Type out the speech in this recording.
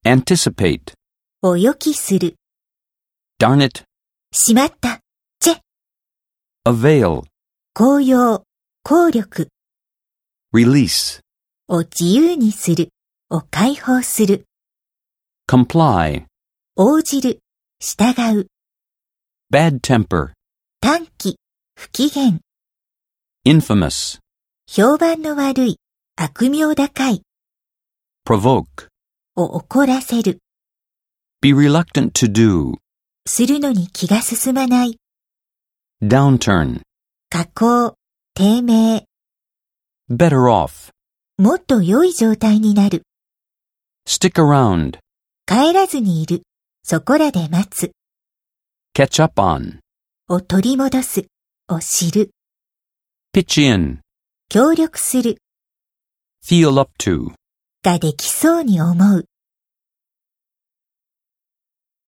anticipate, を予期する。 darn it, しまった。チェ。 avail, 効用、効力。 release, を自由にする。を解放する。 comply, 応じる。従う。 bad temper, 短気、不機嫌。 infamous, 評判の悪い。悪名高い。 provoke, を怒らせる。 be reluctant to do, するのに気が進まない。 downturn, 下降、低迷。 better off, もっと良い状態になる。 stick around, 帰らずにいる。そこらで待つ。 catch up on, を取り戻す。を知る。 pitch in, 協力する。 feel up to. ができそうに思う。